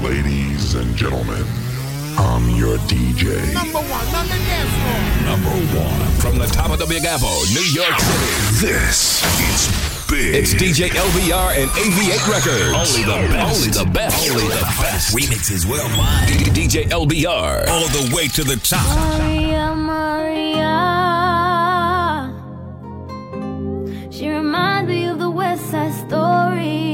Ladies and gentlemen, I'm your DJ. Number one on the dance floor. Number one from the top of the Big Apple, New York City. This is big. It's DJ LBR and AV8 Records. Only the best. Only the best. Only the best. Remixes worldwide. DJ LBR. All the way to the top. Maria, Maria. She reminds me of the West Side Story.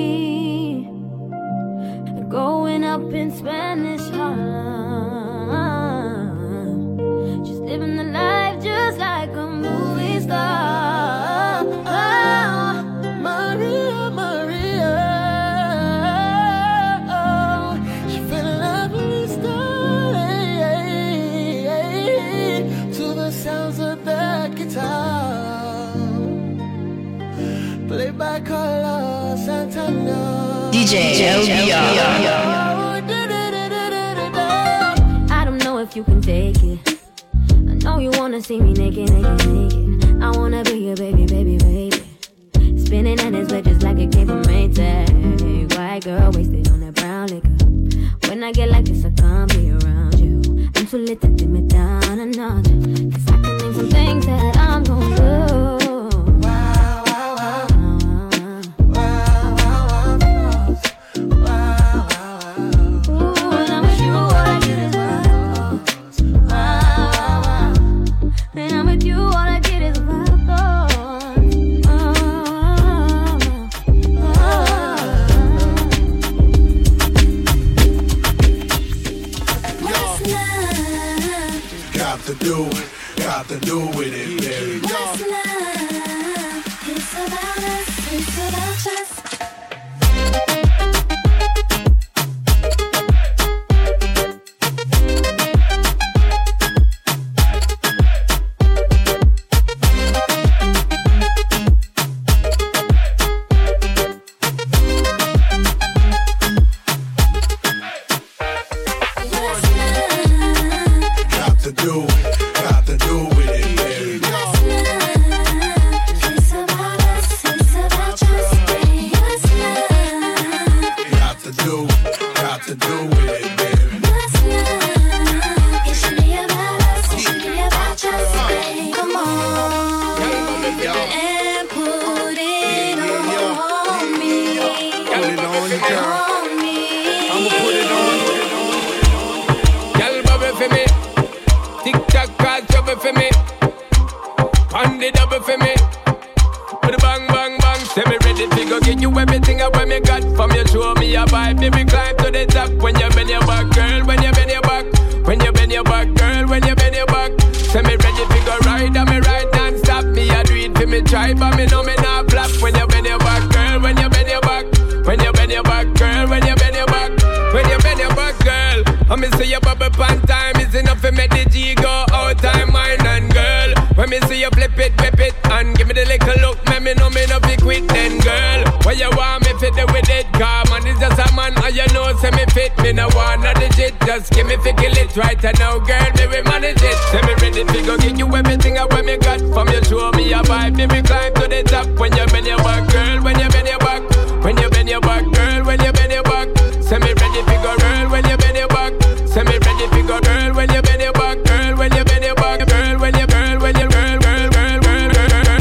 Growing up in Spanish Harlem, just living the life just like a movie star. Oh, Maria, Maria, oh, she fell in love with the story to the sounds of the guitar, played by Carlos Santana. DJ LBR. I don't know if you can take it. I know you wanna see me naked, naked, naked. I wanna be your baby, baby, baby. Spinning in his bed just like it came from Maytag. White girl wasted on that brown liquor. When I get like this, I can't be around you. I'm too lit to dim it down a notch. 'Cause I can name some things that I'm gon' do. Got to do with it, baby. What's love? It's about us, it's about us. Right now, girl, me we manage it. Say me ready to go give you everything I when me got. From you show me a vibe, me we climb to the top. When you bend your back, girl, when you bend your back, when you bend your back, girl, when you bend your back. Say me ready to go, girl, when you bend your back. Say me ready to go, girl, when you bend your back, girl, when you bend your back, girl, when you girl, when you girl, girl, girl, girl,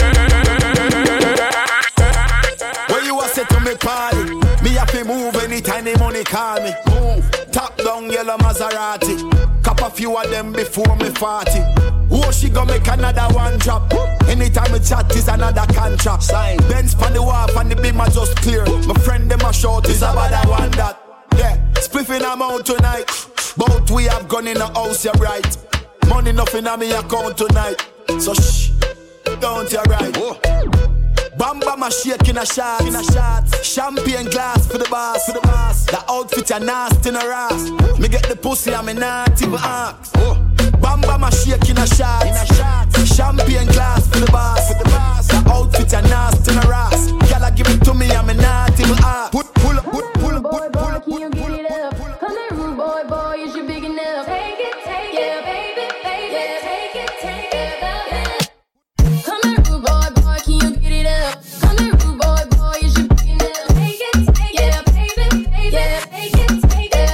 girl. When you a say to me party, me have to move anytime the money call me. Move, top down yellow Maserati. Cop a few of them before me 40. Oh, she gon' make another one drop. Anytime we chat is another contract. Sign. Benz pon the wharf and the beam are just clear. My friend them a short is about that one that. Yeah, spliffing I'm out tonight. Both we have gone in the house, you're right. Money nothing on me account tonight. So shh, don't you right. Oh. Bamba my shake in a shot, champagne glass for the boss, The outfit a nasty in a ass. Me get the pussy and me not even ask. Bamba my shake in a shot, champagne glass for the boss, The outfit a nasty in a ass. Y'all give it to me and me not even ask. Pull up. Come here, rude boy, you should big enough. Take it, yeah, baby, yeah, take it. Come here, rude boy, can you get it up? Come here, rude boy, you should big enough. Take it, yeah, baby, yeah, take it.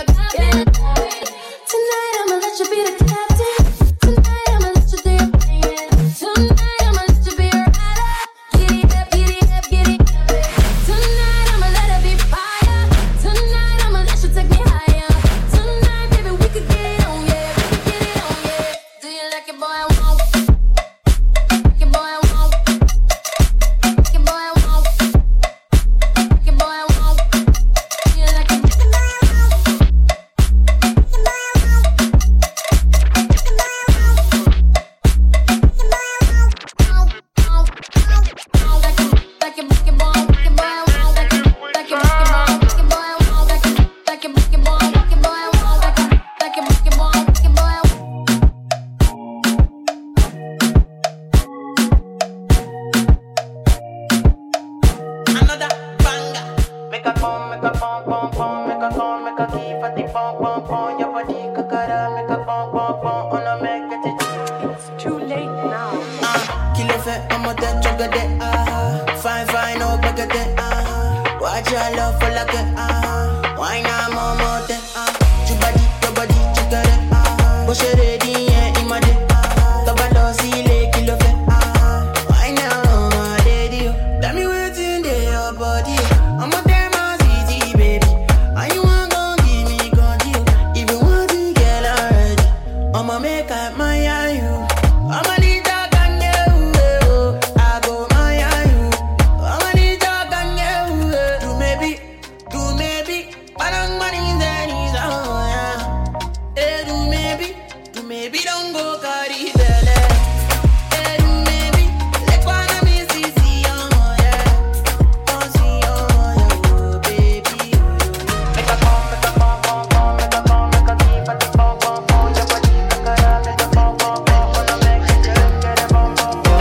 good day, fine, oh, good day, watch your love for like it, why not more day, your body, you got it, push it ready, yeah, in my day, the see like you love it, why now, my daddy, tell me what's in there, your body, I'm a damn easy, baby, and you want gon' give me control, if you want to get already, I'ma make up my you, I'ma need that can you, I go my you, I'ma need that can you, do maybe, parang money then is on, yeah, do maybe, don't go carry belly, do maybe, like one of me see on, yeah, don't see on, yeah, baby, make a come, make a keep at the bum, your body, make a bum, wanna make it just get a bum,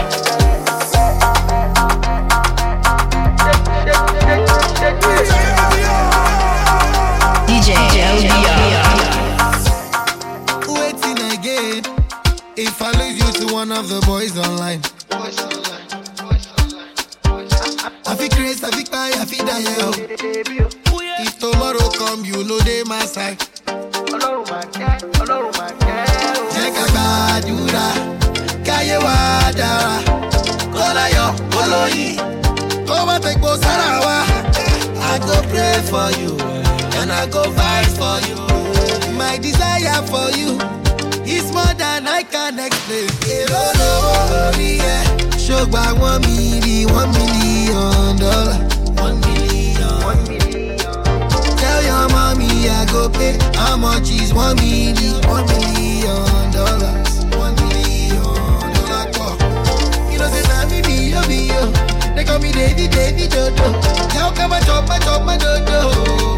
DJ LBR. Waiting again. If I lose you to one of the boys online, I feel crazy, I feel cry, I feel die. If tomorrow come, you know they my side. Check a badura, kaye wadara, kola yo, kolo yi, over take bo sarawa. I go pray for you, and I go fight for you. My desire for you is more than I can explain. Show back $1 million. $1 million. Tell your mommy I go pay. How much is $1 million? $1 million. $1 million. You know say na me be yo. They call me Davy Dodo. Now come and chop my dodo.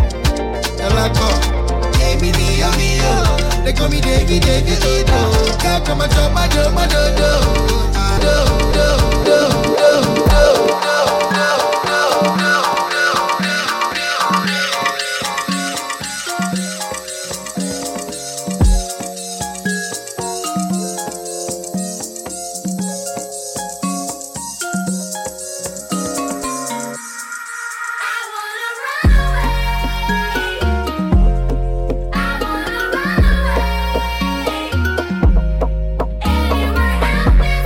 They call me Davy Dodo. Now come and chop my dodo. Anywhere out there.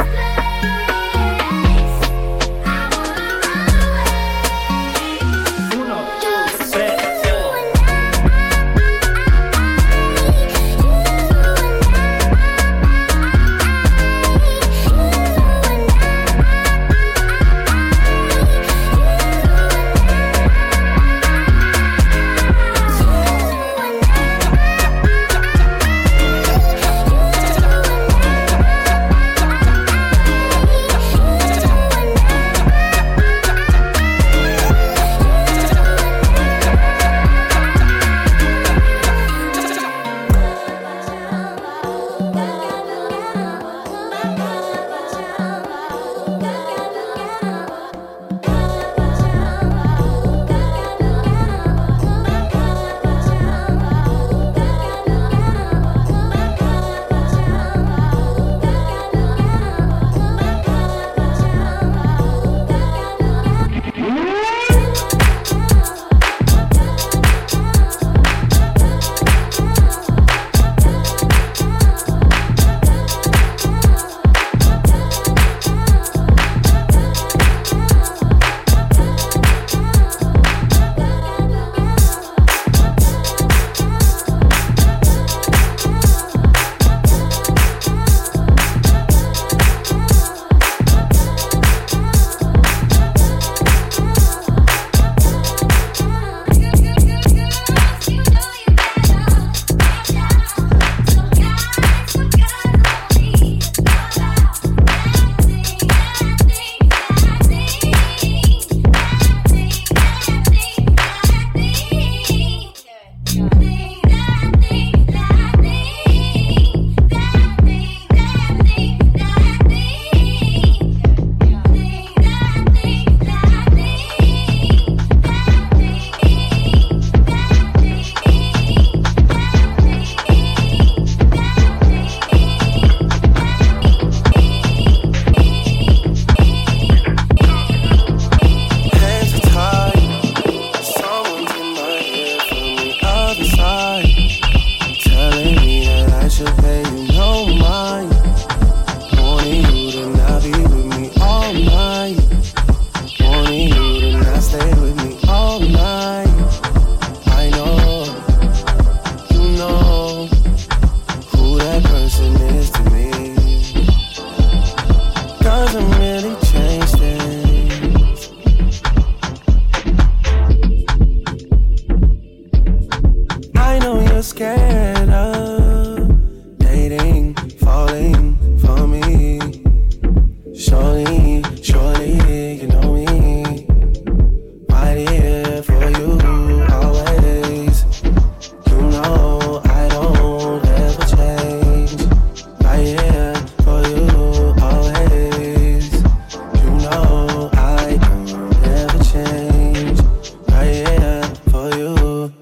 ever scared of dating, falling for me. Surely, surely, you know me. Right here for you, always. You know I don't ever change. Right here for you, always. You know I don't ever change. Right here for you.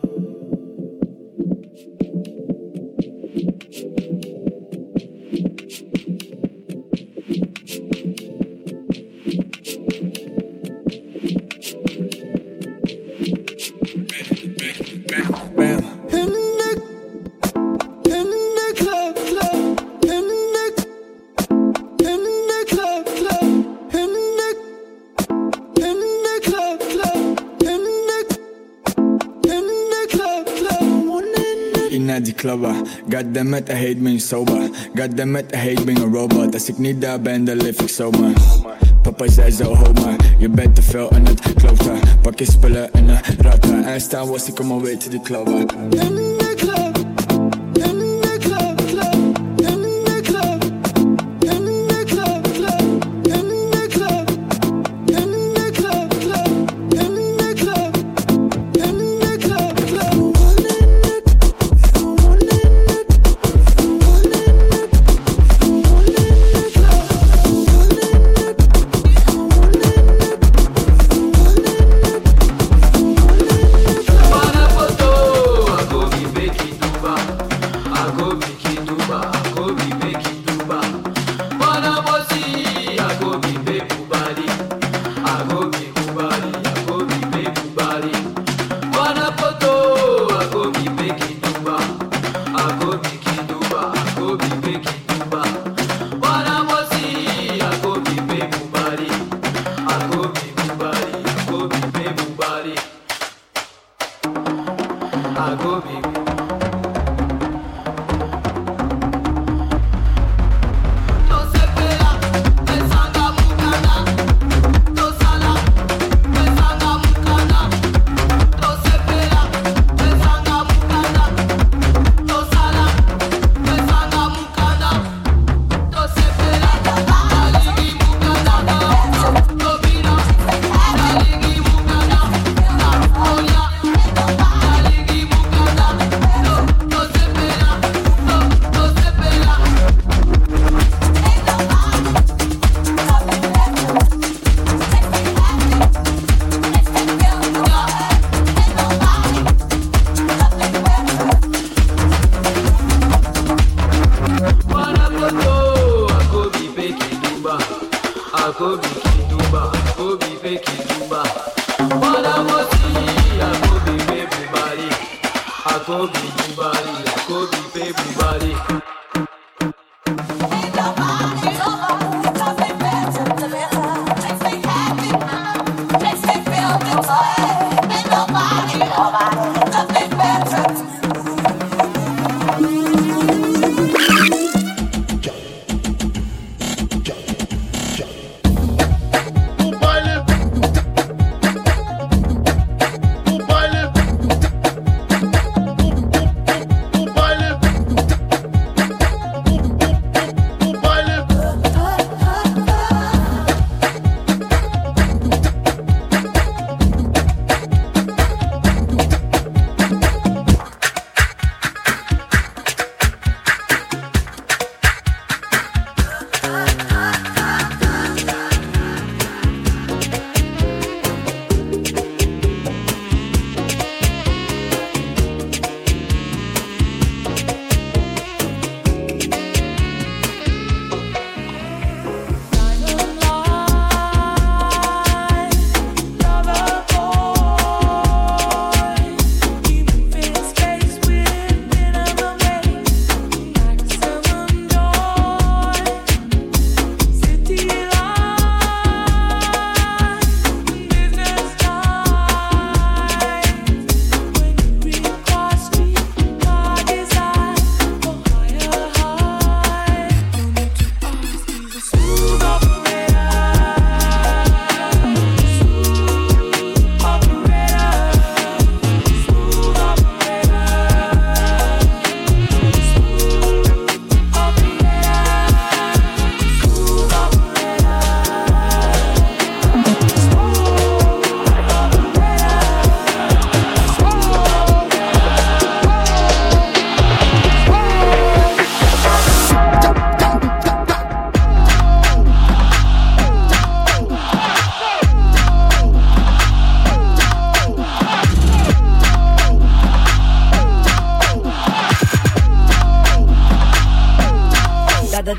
Die clubber. Goddammit, I hate being sober. Goddammit, I hate being a robot. Als ik niet daar ben, dan leef ik zomaar. Papa zei zo, ho maar, je bent te veel aan het kloten. Pak je spullen en een ratten. En staan was ik om alweer te die clubber. In the club, in the club, club. In the club, in the club, club. In the club, in the club, club. In the club, in the club, club.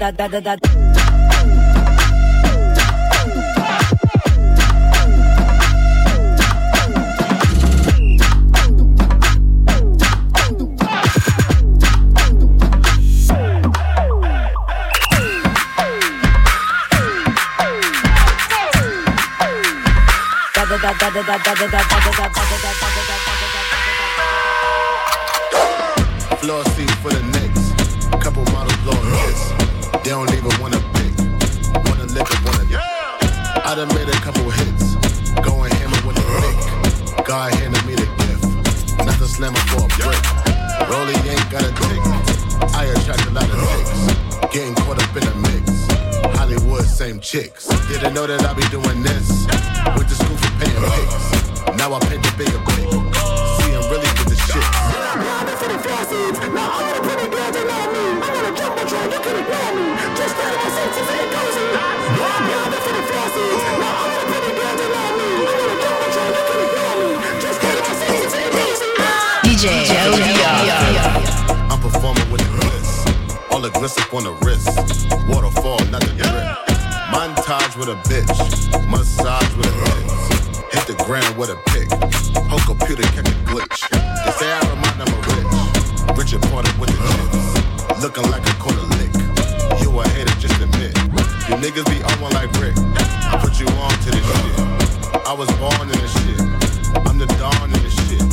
Floor seat for the Knicks. Couple models blowing hits. They don't even wanna pick. Wanna lick up, wanna. I done made a couple hits. Going hammer with the lick. God handed me the gift. Nothing slammer for a brick. Rollie ain't got a dick. I attract a lot of chicks. Getting caught up in the mix. Hollywood, same chicks. Didn't know that I be doing this. Went to school for paying pics. Now I paint the bigger pic. See, I'm really with the shit. DJ I'm performing with the bliss. All the gliss up on the wrist. Waterfall, not the drip. Montage with a bitch. Massage with a bitch. Hit the ground with a pick. Whole computer catch a glitch. They say I remind them of rich. Richard Porter with the chips. Looking like a quarter lick. You a hater, just admit. You niggas be on one like Rick. I put you on to this shit. I was born in this shit. I'm the dawn in this shit.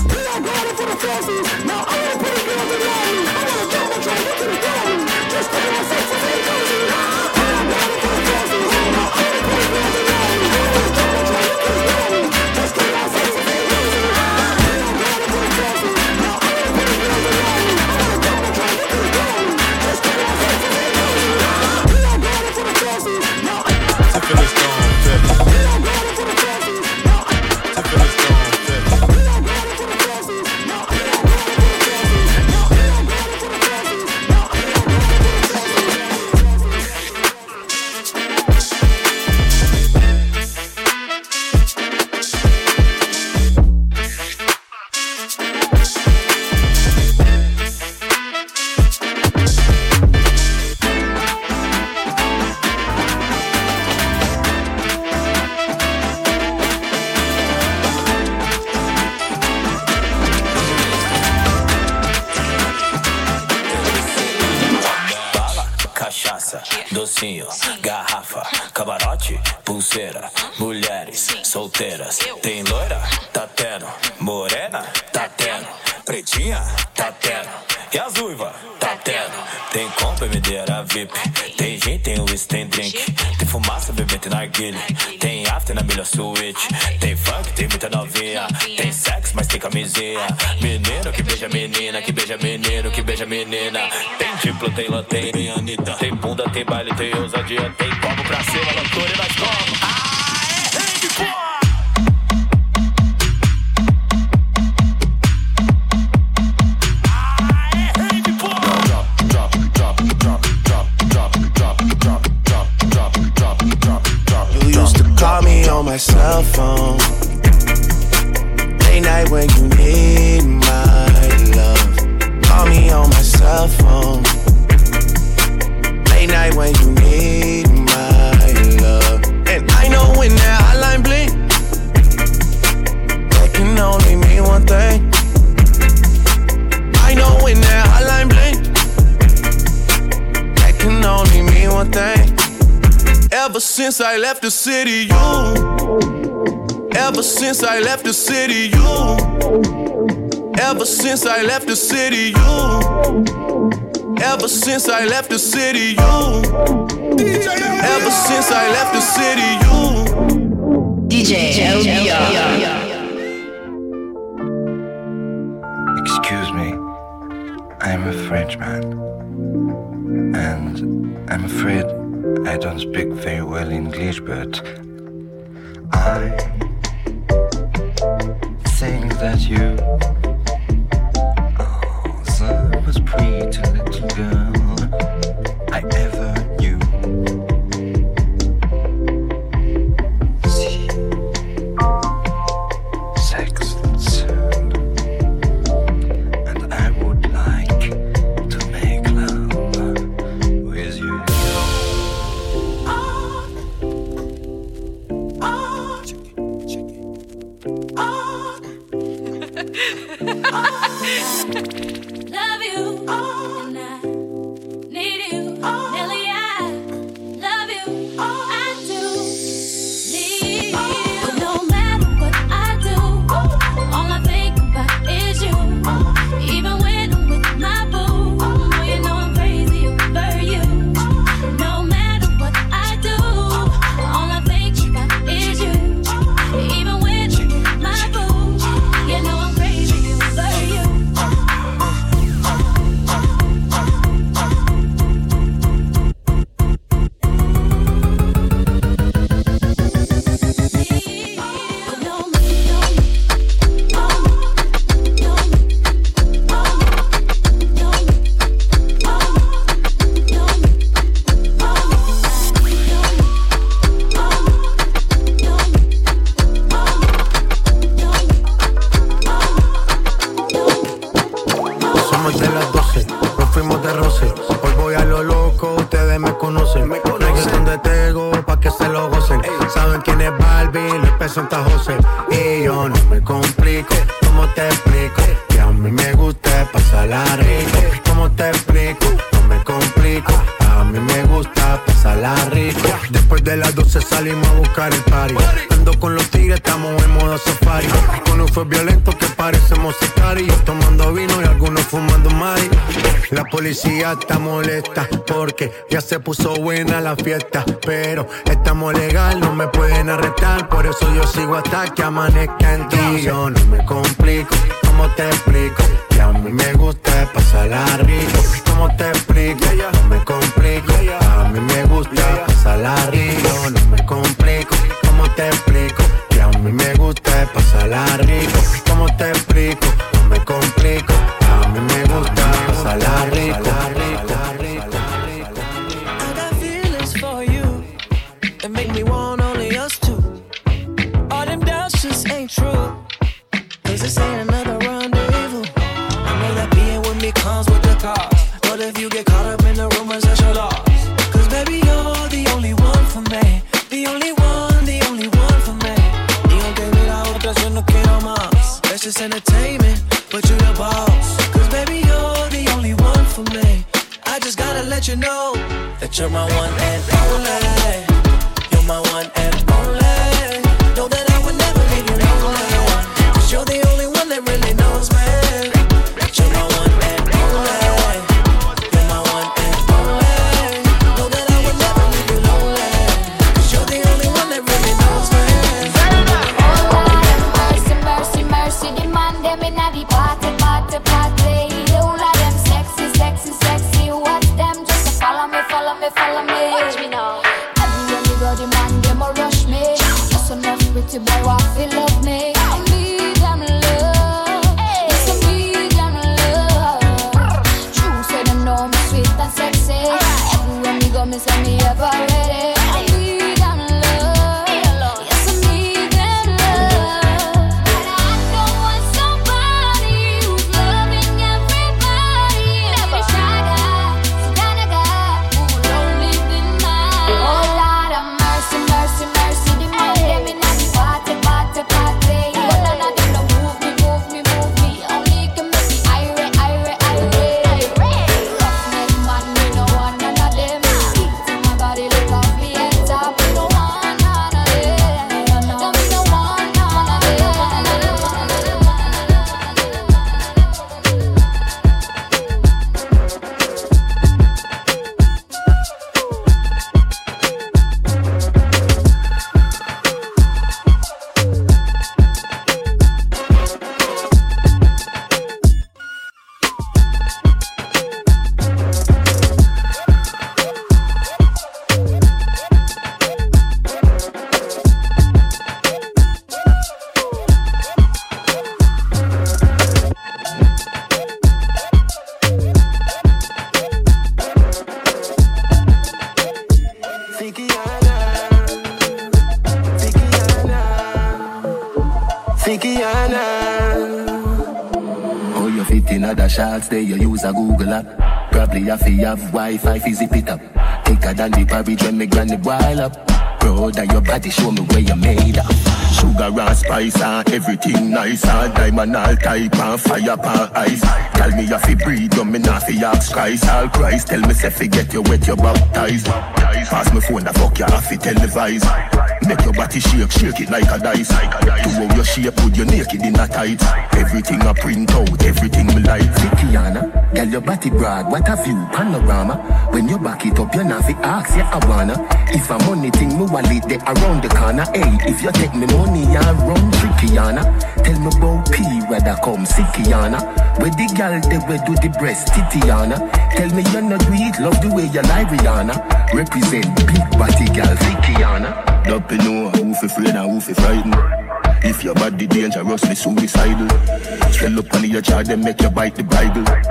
Docinho, garrafa, camarote, pulseira, mulheres solteiras. Tem loira? Tá tendo. Morena? Tá tendo. Pretinha? Tá tendo. E as uivas? Tá tendo. Tem compra, medeira VIP. Tem gin, tem whisky, tem drink. Tem fumaça, bebê, tem narguilha. Tem after na melhor suíte. Tem funk, tem muita novinha. Tem sexo, mas tem camisinha. Menino que beija menina, que beija menino, que beija menina. Tem diplo, tem lantém, tem Anitta. Tem bunda, tem baile, tem ousadia. Tem copo pra cima, loucura e nós como. Rede, porra! Call me on my cell phone. Late night when you need my love. Call me on my cell phone. Late night when you need my love. And I know when that hotline blink, that can only mean one thing. I know when that hotline blink, that can only mean one thing. Ever since I left the city, you. Ever since I left the city, you. Ever since I left the city, you. Ever since I left the city, you. Ever since I left the city, you. DJ Excuse me, I'm a Frenchman, and I'm afraid I don't speak very well English, but I think that you are the most pretty little girl I ever knew. See, sex and sound, and I would like to make love with you. Después de las 12, nos fuimos de roce. Hoy voy a lo loco, ustedes me conocen. Reggaeton de Tego, pa' que se lo gocen. Saben quién es Barbie, les peso en Tajose. Y yo no me complico, ¿cómo te explico? Que a mí me gusta pasarla rico. ¿Cómo te explico? No me complico. A mí me gusta pasarla rico. Después de las 12 salimos a buscar el party. Ando con los tigres, estamos en modo safari. Con un fue violento que parecemos sicarios. Tomando vino y algunos fumando mari. La policía está molesta porque ya se puso buena la fiesta. Pero estamos legal, no me pueden arrestar. Por eso yo sigo hasta que amanezca en ti. Yo no me complico, ¿cómo te explico? Que a mí me gusta pasarla rico. ¿Cómo te explico? No me complico. A mí me gusta pasarla rico. No me complico. ¿Cómo te explico? Que a mí me gusta pasarla rico. ¿Cómo te explico? No me complico. A mí me gusta pasarla rico. I got feelings for you that make me want only us two. All them doubts just ain't true. 'Cause this ain't another rendezvous. I know that being with me comes with the cost. But if you get caught up in the rumors, that's your loss. 'Cause baby, you're the only one for me. The only one for me. Y aunque mira otra, yo no quiero más. That's just entertainment, but you the boss. 'Cause baby, you're the only one for me. I just gotta let you know that you're my one and only. You're my one and only. Know that I would never leave you lonely. 'Cause you're the only one that really knows me. You're my one and only. You're my one and only. Know that I would never leave you lonely. 'Cause you're the only one that really knows me. Mercy, mercy, mercy, the man them inna the party, party, party. All of them sexy, sexy, sexy. Watch them just follow me, follow me, follow me. Watch me now. Everywhere me go, the man them a rush me. Just enough pretty boy want to love me. I need them love, yes I need them love. True say them know me sweet and sexy. Everywhere me go, me say me ever ready. I need them love, yes I need them love. And I don't want somebody who's loving everybody. Never shy guy, some kind of guy who will only be mine. Oh Lord of mercy, mercy, mercy, the man them inna the party, party, party. But none of them don't move me, move me, move me. Only can make me irate, irate, irate. Roughneck man, me no want none of them. Speak to my body, look off me head top. Me no want none of them. No, me no want none of them. Oh, you fit in other shots there, you use a Google app. Probably have to have Wi-Fi, fi zip it up. Thicker than the porridge when me granny boil up. Proud of your body, show me where you made up. Sugar and spice and everything nice. And diamond all type and fire pan ice. Tell me you fi breathe, you me not fi ask Christ. All Christ, tell me say fi get you wet, you baptized. Pass me phone, the fuck you have fi televise. Make your body shake, shake it like a dice. To how your shape, put your naked in a tight. Everything I print out, everything me like. Kiana, girl your body broad, what a view, panorama. When you back it up, you not fi ask, yeah I wanna. If a money thing, me wallet they around the corner. Hey, if you take me money, you run Kiana. Tell me about P, where that come, see Kiana. Where the girl, they will do the breast, Titiana. Tell me you not do it, love the way you like Rihanna. Represent big body girl, see Kiana. Don't you know who fi afraid and who fi frightened. If your body dangerously suicidal, swell up on your jaw, then make you bite the Bible.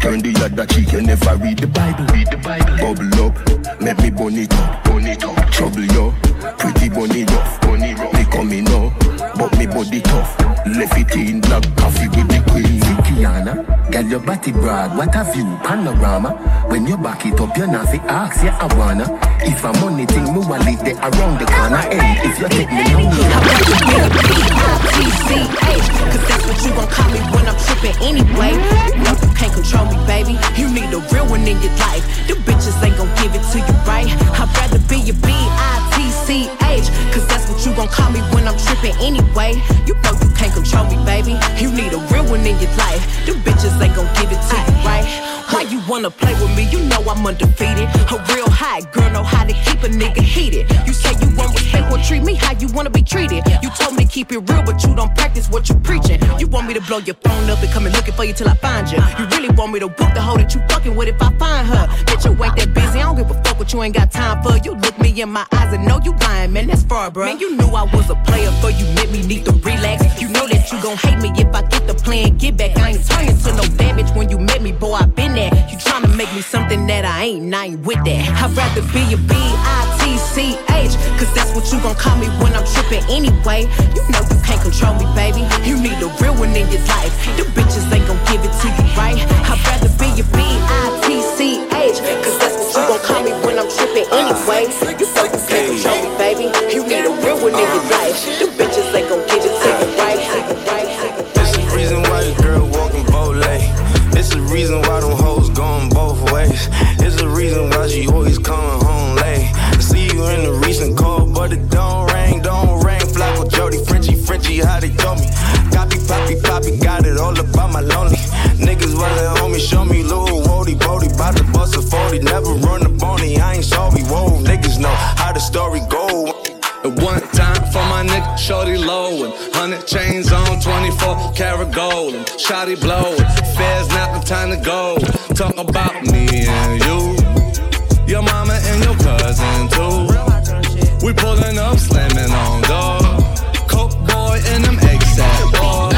Turn the other cheek, you never read the Bible. Bubble up, make me burn it up. Trouble yo, pretty bunny rough. Me coming now, but me body tough. Left it in black coffee with the queen. Kiana, girl your body broad, what a view, panorama. When you back it up, you not fi ask, yeah I wanna. If I'm on anything, me wallet there around the corner. Hey, if you take me down, cause that's what you gon' call me when I'm trippin' anyway. No, you can't control me, baby. You need a real one in your life. The bitches ain't gon' give it to you right. I'd rather be your B-I-T-C-H, cause that's what you gon' call me when I'm trippin' anyway. You know you can't control me, baby. You need a real one in your life. The bitches ain't gon' give it to you right. Why you wanna play with me? You know I'm undefeated. A real hot girl know how to keep a nigga heated. You say you want respect, well treat me how you wanna be treated. You told me to keep it real, but you don't practice what you preaching. You want me to blow your phone up and come and looking for you till I find you. You really want me to book the hoe that you fucking with if I find her. Bitch, you ain't that busy, I don't give a fuck what you ain't got time for. You look me in my eyes and know you lying, man, that's far, bro. Man, you knew I was a player, for you let me need to relax. You know that you gon' hate me if I get the plan, get back. I ain't turning to no bad bitch when you met me, boy, I been there. You tryna make me something that I ain't with that. I'd rather be a B-I-T-C-H, cause that's what you gon' call me when I'm trippin' anyway. You know you can't control me, baby. You need a real one in your life. The bitches ain't gon' give it to you right. I'd rather be a B-I-T-C-H, cause that's what you gon' call me when I'm trippin' anyway. You know you can't control me, baby. You need a real one in your life. The bitches ain't gon' give it to you right. It's the reason why your girl walking both late. It's the reason why them hoes going both ways. It's the reason why she always coming home late. I see you in the recent call, but it don't ring. Flacco, Jody, Frenchie, how they told me. Copy, poppy, got it all about my lonely. Niggas wasn't on me, show me little Wody, bout to bust a 40. Never run a bony, I ain't sorry, whoa. Niggas know how the story go. At one time for my nigga, shorty low, and 100 chains on, 24 karat gold, and shotty blow. Fair's not the time to go. Talk about me and you, your mama and your cousin too. We pulling up, slamming on door. Coke boy and them ASAP boy.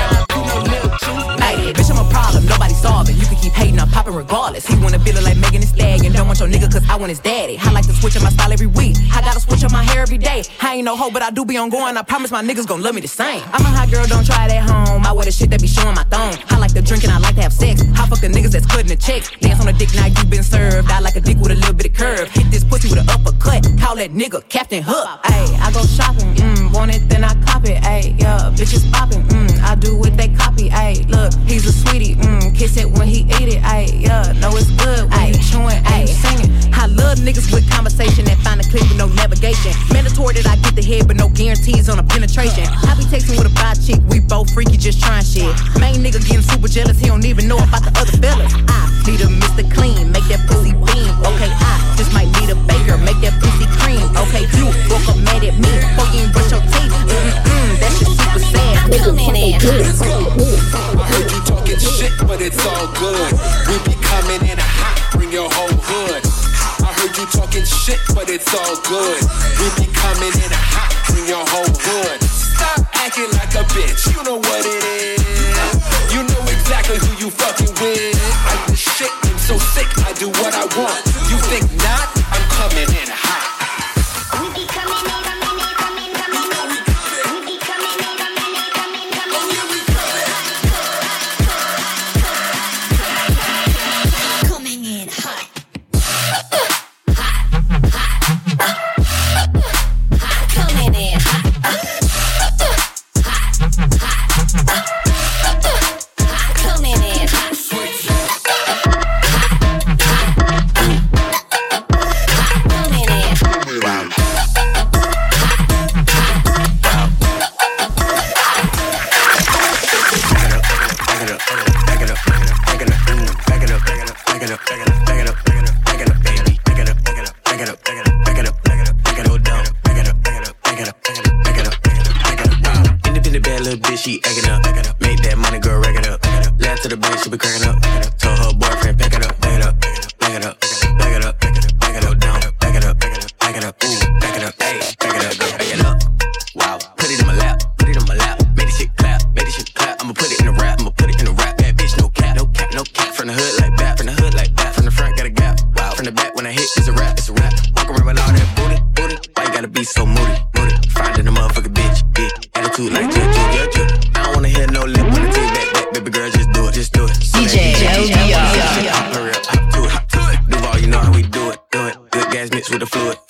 Hey, bitch, I'm a problem, nobody solving. You can keep hating, I'm popping regardless. He wanna feel it like Megan Thee Stallion. Don't want your nigga cause I want his daddy. I like to switch up my style every week. I gotta switch up my hair every day. I ain't no hoe, but I do be on going. I promise my niggas gon' love me the same. I'm a hot girl, don't try it at home. I wear the shit that be showing my thong. I like to drink and I like to have sex. I fuck the niggas that's cutting the checks. Dance on the dick, now you been served. I like a dick with a little bit of curve. Hit this pussy with an uppercut. Call that nigga Captain Hook. Ayy, I go shopping, want it, then I cop it. Ayy, yeah, bitches popping, I do what they copy. Ayy, look, he's a sweetie, kiss it when he eat it. Ayy, yeah, know it's good when he chewing, ayy, singing. I love niggas with conversation that find a clip with no navigation. Mandatory that I get the head, but no guarantees on a penetration. I be texting with a bi chick, we both freaky, just trying shit. Main nigga getting super jealous, he don't even know about the other fellas. I need a Mr. Clean, make that pussy beam. Okay, I just might need a baker, make that pussy cream. Okay, you woke up mad at me, before you ain't brush your teeth. That shit super sad. Come in. Heard you talking shit, but it's all good. We be coming in hot, bring your whole hood. I heard you talking shit, but it's all good. We be coming in hot, bring your whole hood. Stop acting like a bitch, you know what it is. You know exactly who you fucking with. I'm the shit, I'm so sick, I do what I want. You think not? I'm coming in hot. We be coming in.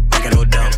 back it up down.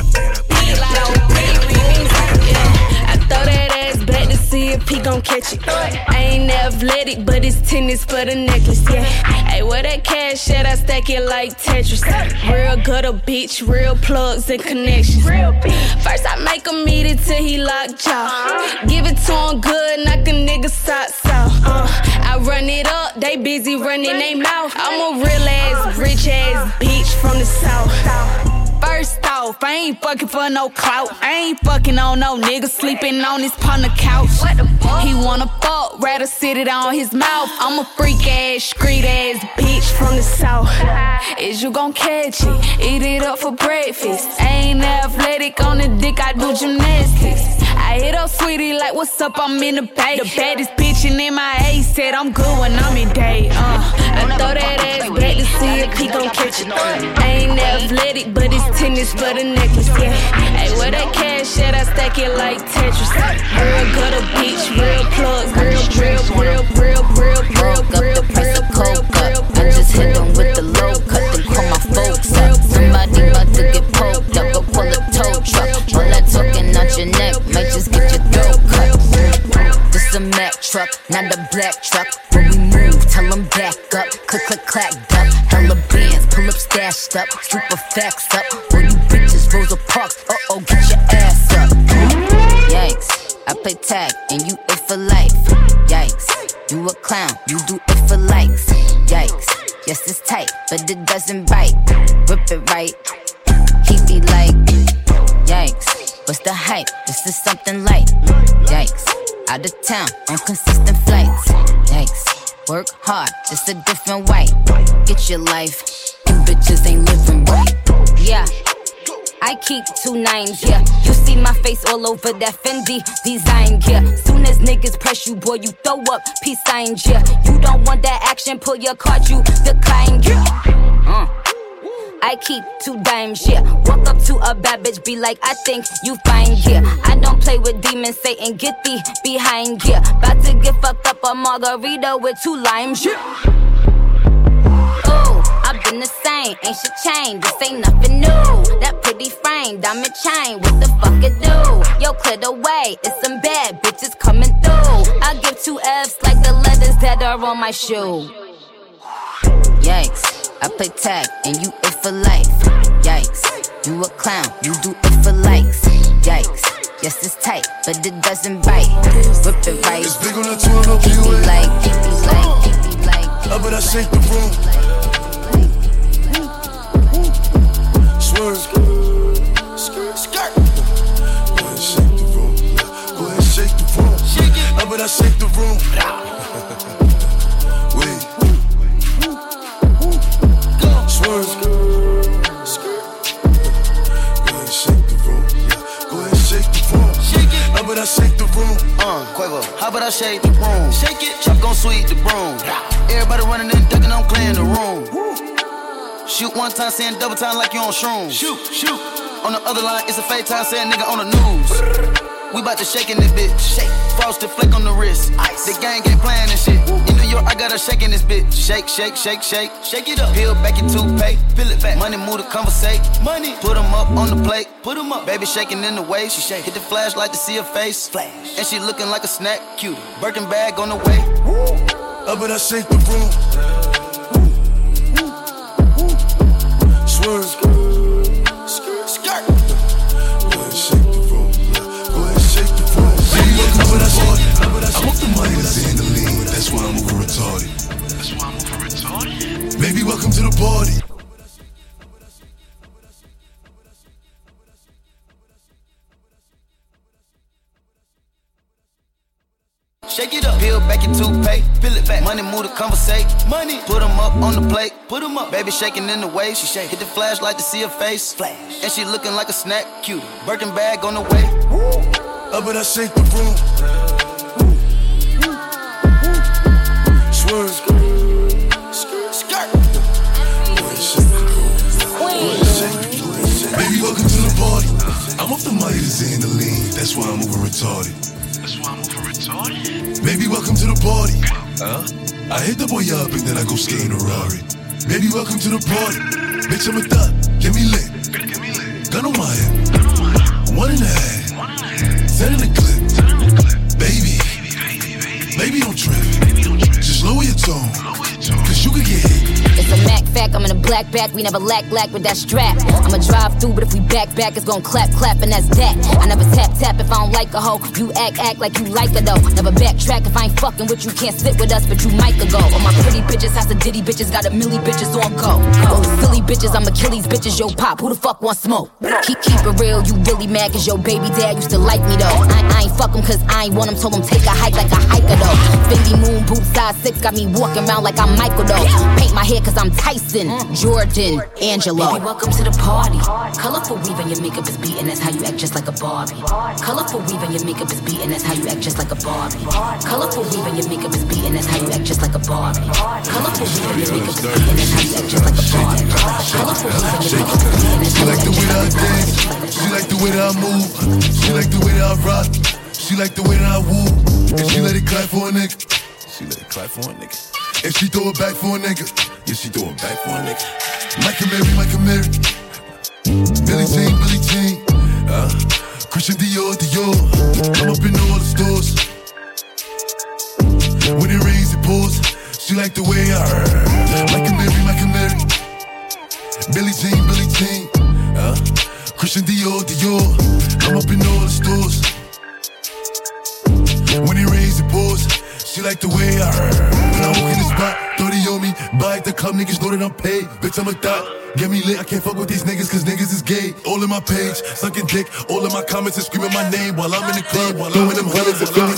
I throw that ass back to see if he gon' catch it. I ain't athletic, but it's tennis for the necklace, yeah. Hey, where that cash at? I stack it like Tetris. Real gutter bitch, real plugs and connections. First I make him eat it till he locked jaw. Give it to him good, knock a nigga socks off. I run it up, they busy running they mouth. I'm a real ass, rich ass bitch from the south. First off, I ain't fucking for no clout. I ain't fucking on no nigga sleeping on his partner couch. He wanna fuck, rather sit it on his mouth. I'm a freak ass, street ass bitch from the south. Is you gon' catch it? Eat it up for breakfast. I ain't athletic on the dick, I do gymnastics. I hit up Sweetie like, what's up, I'm in the bay. The baddest bitch in MIA said I'm good when I'm in day. I throw that ass back to see if he gon' catch it. I ain't athletic, but it's tennis for the necklace, yeah. Hey, where that cash at? I stack it like Tetris. Real gutter bitch, real plugs, real. I just hit them with the low cut, then call my folks up. Somebody about to get poked up, go pull a tow truck. All that talking out your neck might just get your throat cut. This a Mack truck, not a black truck. When we move, tell them back up. Click, click, clack, duck. Hella bands, pull up, stashed up. Super facts up. All you bitches, Rosa Parks. Uh-oh, get your ass up. Yikes, I play tag and you it for life. Yikes, you a clown, you do it for likes. Yikes, yes it's tight, but it doesn't bite. Rip it right, he be like, yikes, what's the hype? This is something light. Yikes, out of town on consistent flights. Yikes, work hard, just a different way. Get your life, you bitches ain't living right. Yeah, I keep 2 9s, yeah. You see my face all over that Fendi design, yeah. Soon as niggas press you, boy, you throw up peace signs, yeah. You don't want that action, pull your card, you decline, yeah. I keep 2 dimes, yeah. Walk up to a bad bitch, be like, I think you fine, yeah. I don't play with demons, Satan, get thee behind, yeah. About to get fucked up a margarita with 2 limes, yeah. I've been the same, ain't shit changed, this ain't nothing new. That pretty frame, diamond chain, what the fuck it do? Yo, clear the way, it's some bad bitches coming through. I give 2 F's like the letters that are on my shoe. Yikes, I play tag and you it for life. Yikes, you a clown, you do it for likes. Yikes, yes it's tight, but it doesn't bite. Rip it right, it's big on the 12 keep me like, keep me like, keep me like. How about I shake the room? Swerve. Skirt. Go ahead and shake the room. Go ahead and shake the room. How about I shake the room? Wait. Swerve. Go ahead and shake the room. Go ahead and shake the room. How about I shake the room? Quavo. How about I shake the room? Shake it. Chop gon' sweep the broom. Everybody running and ducking, I'm clearing the room. Shoot 1 time, saying double time like you on shrooms. Shoot. On the other line, it's a fake time, saying nigga on the news. We bout to shake in this bitch. Shake. Frosted flake on the wrist. Ice. The gang ain't playing this shit. In New York, I got her shaking this bitch. Shake. Shake it up. Peel back your toothpaste. Peel it back. Money move to conversate. Money. Put them up on the plate. Put them up. Baby shaking in the way. She shake. Hit the flashlight to see her face. Flash. And she looking like a snack. Cute. Birkin bag on the way. How about I shake the room? Swerve. Skirt. Go ahead and shake the room. Go ahead and shake the room. Baby, welcome to the party. I want the money to see the lean. That's why I'm over retarded. Baby, welcome to the party. Shake it up, peel back your toothpaste, peel it back. Money move to conversate, money. Put them up on the plate, put them up. Baby shaking in the way, she shake. Hit the flashlight to see her face, flash. And she looking like a snack, cute. Birkin bag on the way. How about I shake the room? Swerve. Baby, welcome to the party. I hit the boy up and then I go skate in a Rari. Baby, welcome to the party. Bitch, I'm a thot, get me lit. Gun on my hip, 1.5, 10 in the clip. Baby, don't trip. Just lower your tone, cause you could get hit. It's a Mac fact, I'm in a black back, we never lack with that strap. I'ma drive through, but if we back, it's gon' clap, and that's that. I never tap if I don't like a hoe. You act like you like her though. Never backtrack if I ain't fucking with you, can't sit with us, but you might go. All my pretty bitches, house of ditty bitches, got a milli bitches on go. Those silly bitches, I'm Achilles bitches, yo pop, who the fuck want smoke? Keep it real, you really mad cause your baby dad used to like me though. I ain't fuck him cause I ain't want him, told him take a hike like a hiker though. Fendi moon boots size 6, got me walking around like I'm Michael though. Paint my hair cause I'm Tyson, Jordan, Angelo. Baby, welcome to the party. Colorful weave and your makeup is beating, that's how you act just like a Barbie. Colorful weave and your makeup is beating, that's how you act just like a Barbie. Colorful weave and your makeup is beating, that's how you act just like a Barbie. Colorful weave and your makeup is beating, that's how you act just like a Barbie. Colorful weave and your makeup is beating, that's how you act just like a Barbie. She like the way that I move, she like the way that I rock, she like the way that I woo, and she let it clap for a nigga. She let it clap for a nigga. And she throw it back for a nigga. Yeah, she throw it back for a nigga. Michael Mary. Billie Jean. Christian Dior. I'm up in all the stores. When it rains, it pours. She like the way I heard. Michael Mary. Billie Jean. Christian Dior. I'm up in all the stores. When it rains, it pours. She like the way I heard. When I walk in the spot, 30 on me. Buy at the club, niggas know that I'm paid. Bitch, I'm a thot. Get me lit, I can't fuck with these niggas cause niggas is gay. All in my page, sucking dick. All in my comments and screaming my name while I'm in the club. Throwing them hundreds.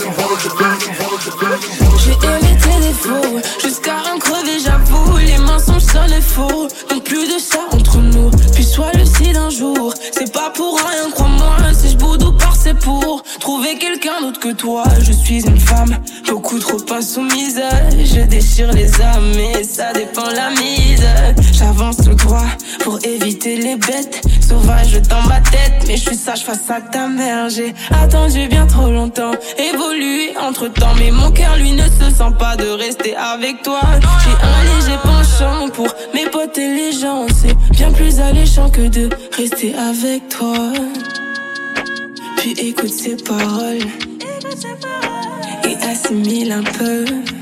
J'ai hérité des faux, jusqu'à en crever j'avoue. Les mensonges sonnent les faux, donc plus de ça entre nous. Puis sois lucide un jour, c'est pas pour rien, crois-moi. Si je boude ou pars c'est pour trouver quelqu'un d'autre que toi. Je suis une femme, beaucoup trop insoumise. Je déchire les âmes, mais ça dépend la mise. J'avance tout droit pour éviter les bêtes sauvages dans ma tête, mais je suis sage face à ta mère. J'ai attendu bien trop longtemps, évolué entre temps, mais mon cœur lui ne se sent pas de rester avec toi. J'ai un léger penchant pour mes potes et les gens, c'est bien plus alléchant que de rester avec toi. Puis écoute ces paroles et assimile un peu.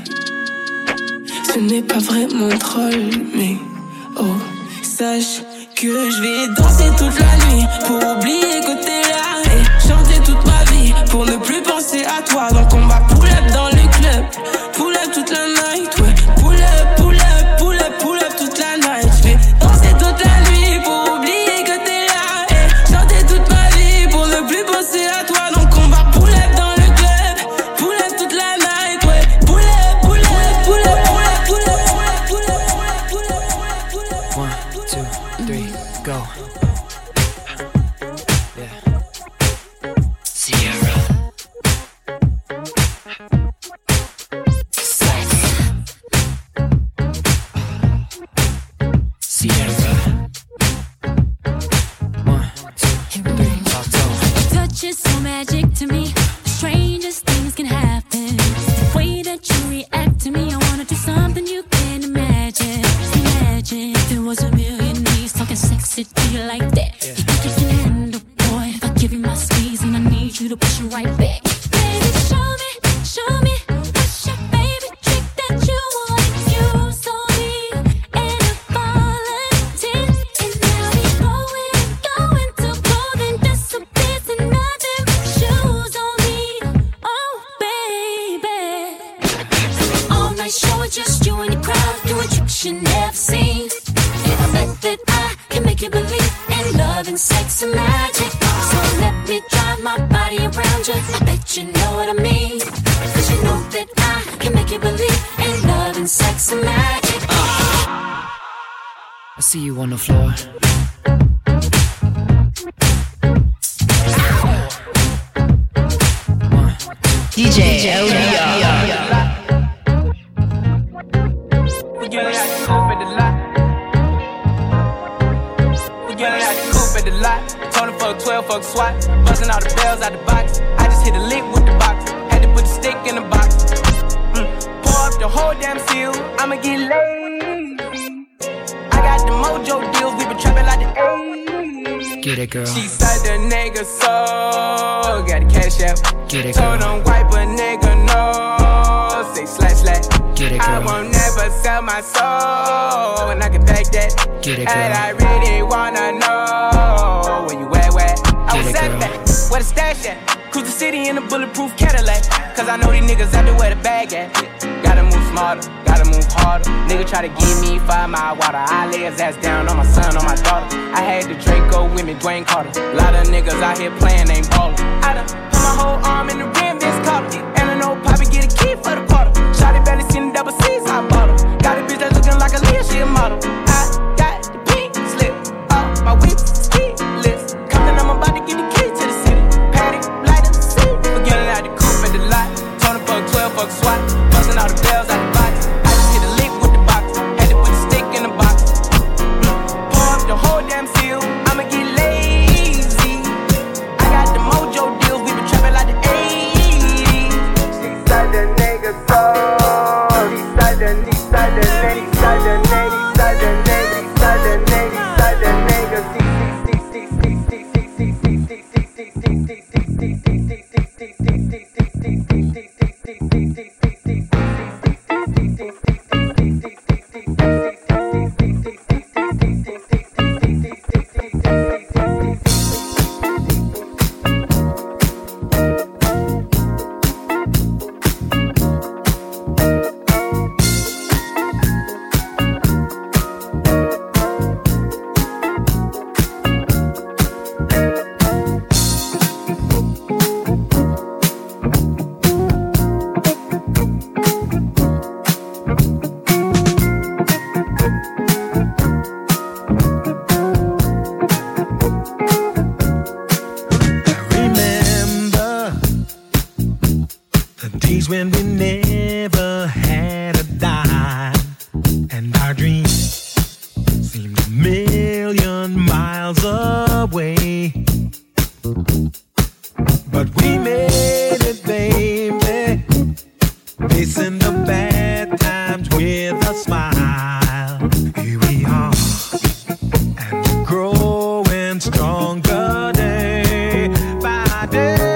Ce n'est pas vraiment drôle, mais oh, sache que je vais danser toute la nuit pour oublier que t'es là et chanter toute ma vie pour ne plus penser à toi. Donc on va pull up dans le club, pull up toute la night, ouais. Pull up toute la night. Je vais danser toute la nuit pour oublier que t'es là et chanter toute ma vie pour ne plus penser à toi. Donc on va pull up dans le club, pull up toute la night, ouais. Pull up. 1, 2, 3, go. Yeah. Sierra. Sex. Sierra. 1, 2, 3, talk. Touch is so magic to me. The strangest things can happen. The way that you react to me, I wanna do something you can't imagine. Imagine if there was a million knees talking sexy to you like that. You think you can handle, boy? If I give you my squeeze and I need you to push it right back. Baby, show me what's your favorite trick that you want to use on me. And if volunteer, and now we going to clothing disappears and nothing but shoes on me. Oh, baby. All night show it just you and the crowd doing tricks you never seen. And I bet that I can make you believe in love and sex and magic. So let me drive my body around you. I bet you know what I mean. Cause you know that I can make you believe in love and sex and magic. I see you on the floor. DJ LDR. We get it out the coupe at the lot. We get it out the coupe at the lot. Tony fuck 12, fuck SWAT. Buzzing all the bells out the box. I just hit a lick with the box. Had to put the stick stick in the box. Pour up the whole damn seal, I'ma get lazy. I got the mojo deals, we been trapping like the 80s. Get it, girl. She said the nigga so got the cash out. Get it, girl. Told him wipe a nigga no, say slash slash. Get it, girl. I won't never sell my soul, and I can back that. Get it, girl. And I really wanna know where you at, where? I was at back, where the stash at? Cruise the city in a bulletproof Cadillac. Cause I know these niggas out there where the bag at. Gotta move smarter, gotta move harder. Nigga try to give me 5 mile water. I lay his ass down on my son, on my daughter. I had the Draco with me, Dwayne Carter. A lot of niggas out here playing, ain't ballin'. I done put my whole arm in the rim, Vince Carter. And I know Poppy get a key for the Porter. Shotty barely seen the double C's, I bought her. Got a bitch that's looking like a Leah, she a model. I got the pink slip, my whips, ski list. Compton, I'm about to get the key to the city. Patty, light up, see. Forgetting out the coupe at the lot. Tony fuck 12, fuck SWAT. Busting all the bells out the box. I just hit a lick with the box. Had to put the stick in the box. Pour up the whole damn seal. I'ma get lazy. I got the mojo deals. We been trapping like the 80s. She said the nigga so. He said the nigga. He said the nigga. He said the nigga. He said the nigga. He said the nigga. He said the nigga. When we never had a dime, and our dreams seemed a million miles away, but we made it, baby, facing the bad times with a smile. Here we are, and we're growing stronger day by day.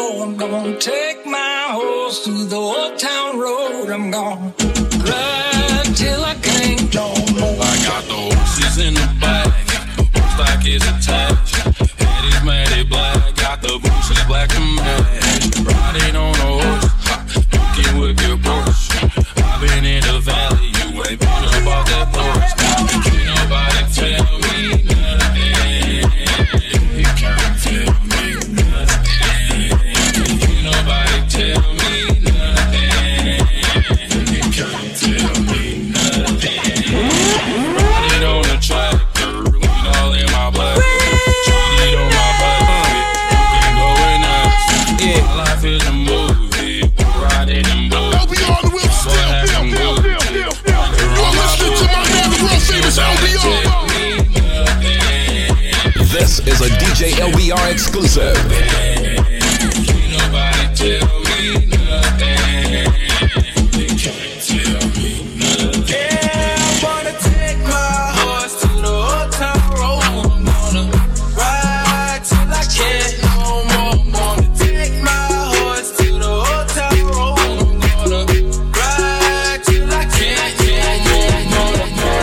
go. I'm gonna take my horse to the old town road. I'm gonna ride till I can't no more. I got the horses in the back, horse back is attached. Head is matted black, got the bushes black and match. Riding on a horse, looking with your Porsche. I've been in the valley, you ain't been about that Porsche. Can't nobody tell me nothing. You can't tell me nothing. Can't nobody tell me nothing. You can't tell me nothing. Riding on the tractor, lean all in my black. Cheated on my back, looking going nuts. Yeah, my life is a movie, riding in boots. LBR the Will, still. You're listening to my man, the world famous LBR. This is a DJ LBR exclusive. Can't nobody tell me nothing. They can't tell me nothing. Yeah, I'm gonna take my horse to the old town road. I'm gonna ride till I can't no more. I'm gonna take my horse to the old town road. I'm gonna ride till I can't no more.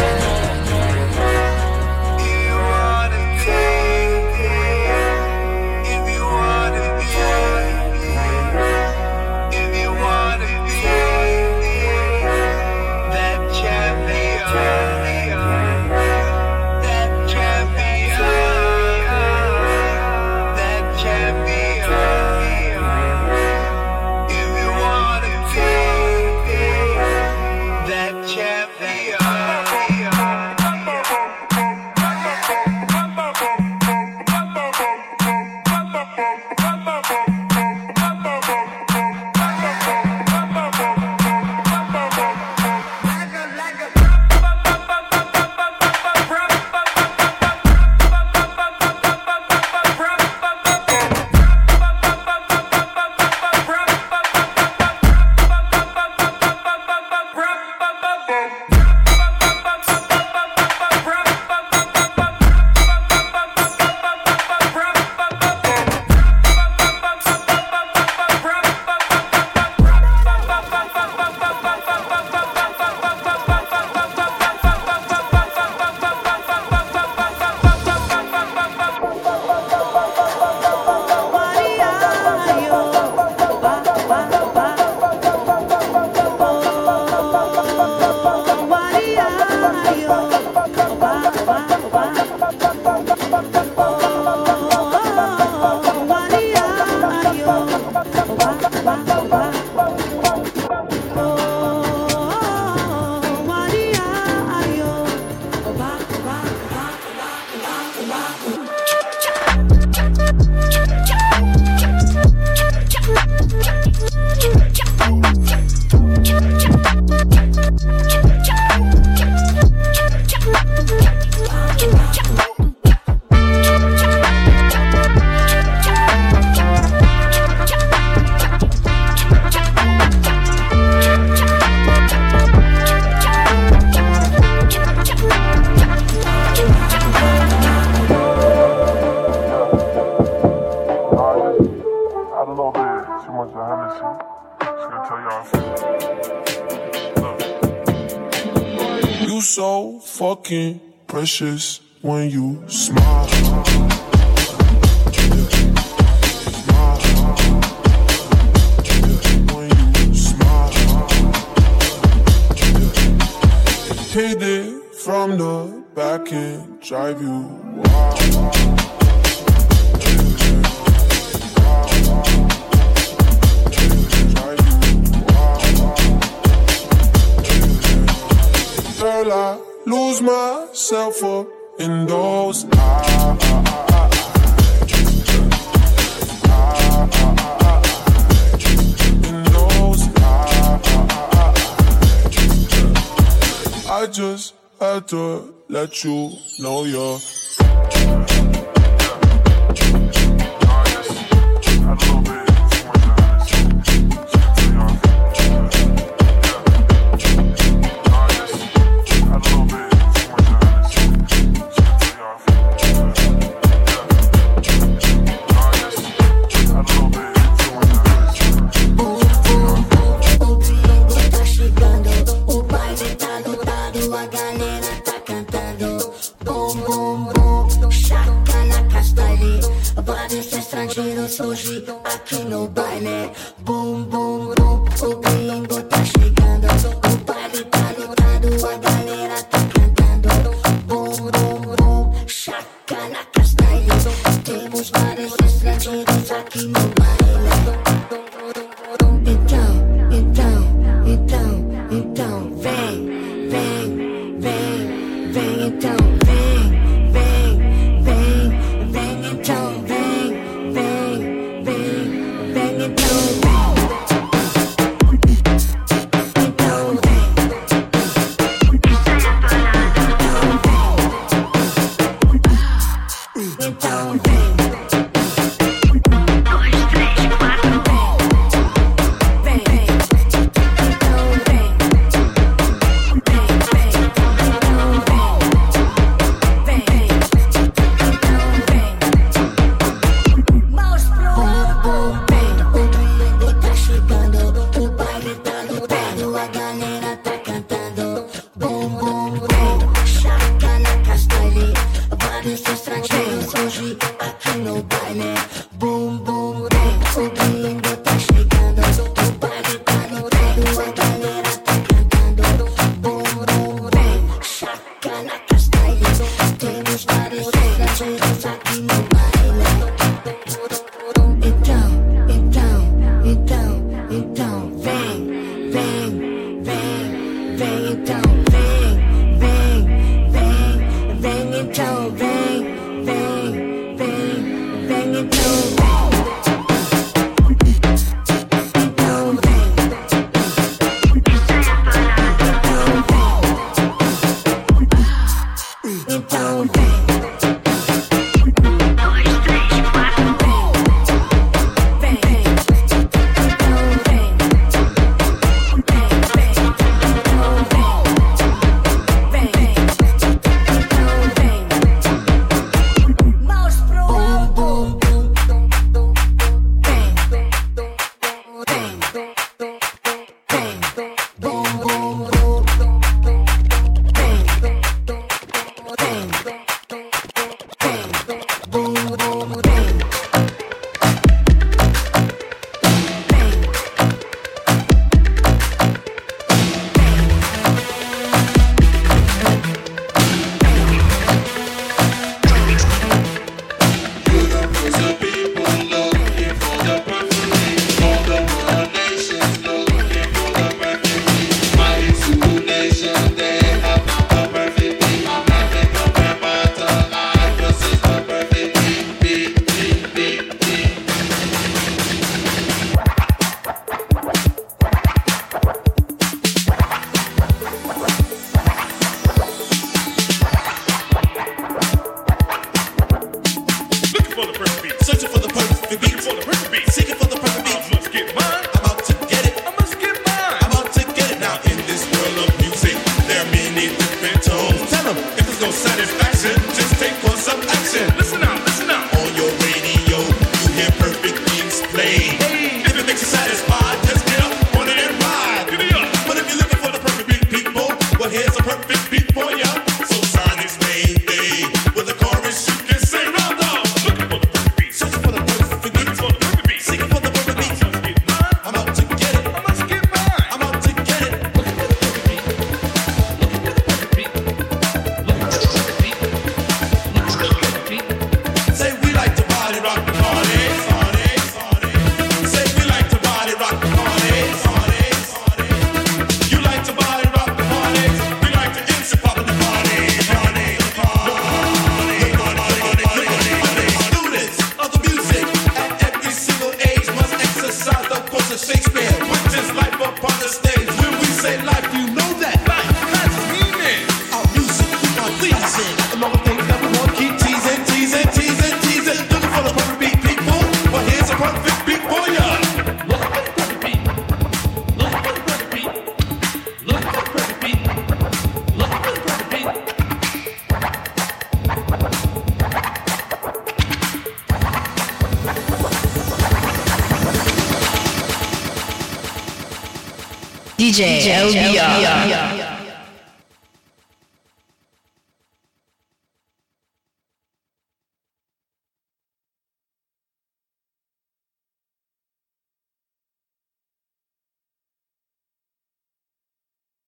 You so fucking precious when you smile. Hit it from the back and drive you wild. Girl, I lose myself up in those eyes. In those eyes. I just had to let you know you're. baile. Bum, bum, bum, o gringo tá chegando. O baile tá lotado, a galera tá cantando. Bum, bum, bum, chacalaca style. Temos vários estrangeiros aqui no baile. Então, vem, então, DJ LBR.